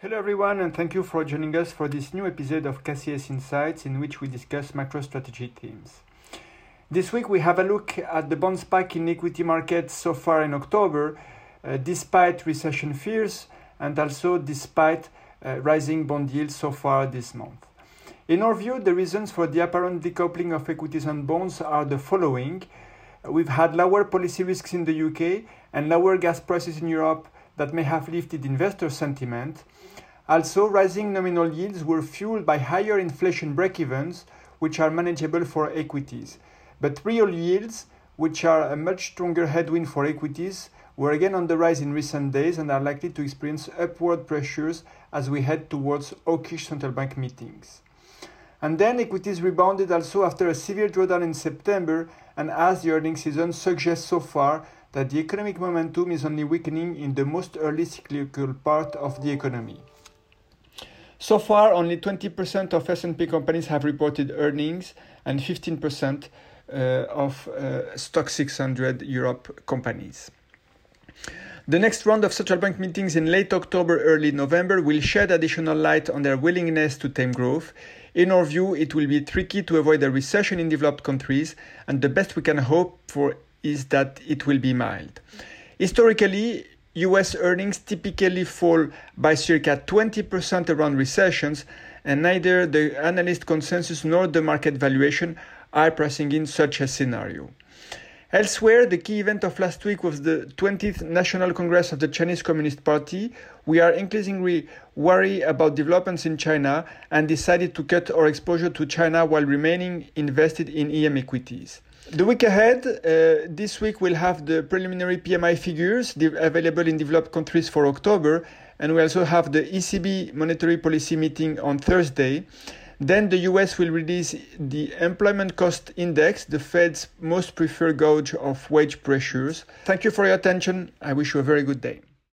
Hello everyone, and thank you for joining us for this new episode of KCS Insights, in which we discuss MicroStrategy themes. This week we have a look at the bond spike in equity markets so far in October, despite recession fears and also despite rising bond yields so far this month. In our view, the reasons for the apparent decoupling of equities and bonds are the following. We've had lower policy risks in the UK and lower gas prices in Europe that may have lifted investor sentiment. Also, rising nominal yields were fueled by higher inflation break-evens, which are manageable for equities. But real yields, which are a much stronger headwind for equities, were again on the rise in recent days and are likely to experience upward pressures as we head towards hawkish central bank meetings. And then equities rebounded also after a severe drawdown in September, and as the earnings season suggests so far that the economic momentum is only weakening in the most early cyclical part of the economy. So far, only 20% of S&P companies have reported earnings and 15% of Stock 600 Europe companies. The next round of central bank meetings in late October, early November will shed additional light on their willingness to tame growth. In our view, it will be tricky to avoid a recession in developed countries, and the best we can hope for is that it will be mild. Historically, US earnings typically fall by circa 20% around recessions, and neither the analyst consensus nor the market valuation are pricing in such a scenario. Elsewhere, the key event of last week was the 20th National Congress of the Chinese Communist Party. We are increasingly worried about developments in China and decided to cut our exposure to China while remaining invested in EM equities. The week ahead, this week we'll have the preliminary PMI figures available in developed countries for October, and we also have the ECB monetary policy meeting on Thursday. Then the US will release the employment cost index, the Fed's most preferred gauge of wage pressures. Thank you for your attention. I wish you a very good day.